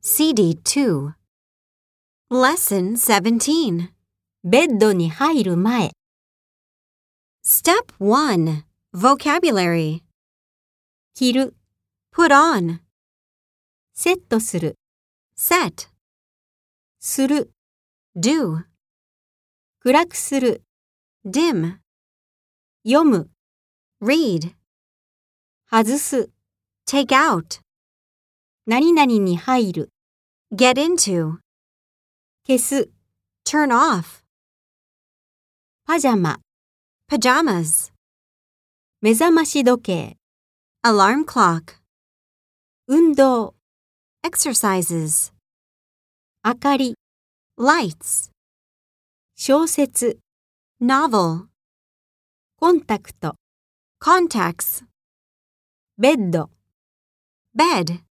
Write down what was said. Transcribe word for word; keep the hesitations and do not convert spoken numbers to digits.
シーディーツー Lesson seventeen ベッドに入る前 Step one Vocabulary 着る Put on セットする Set する Do 暗くする Dim 読む Read 外す Take out 何々に入る Get into 消す Turn off パジャマ Pajamas 目覚まし時計 Alarm clock 運動 Exercises 明かり Lights 小説 Novel コンタクト Contacts ベッド Bed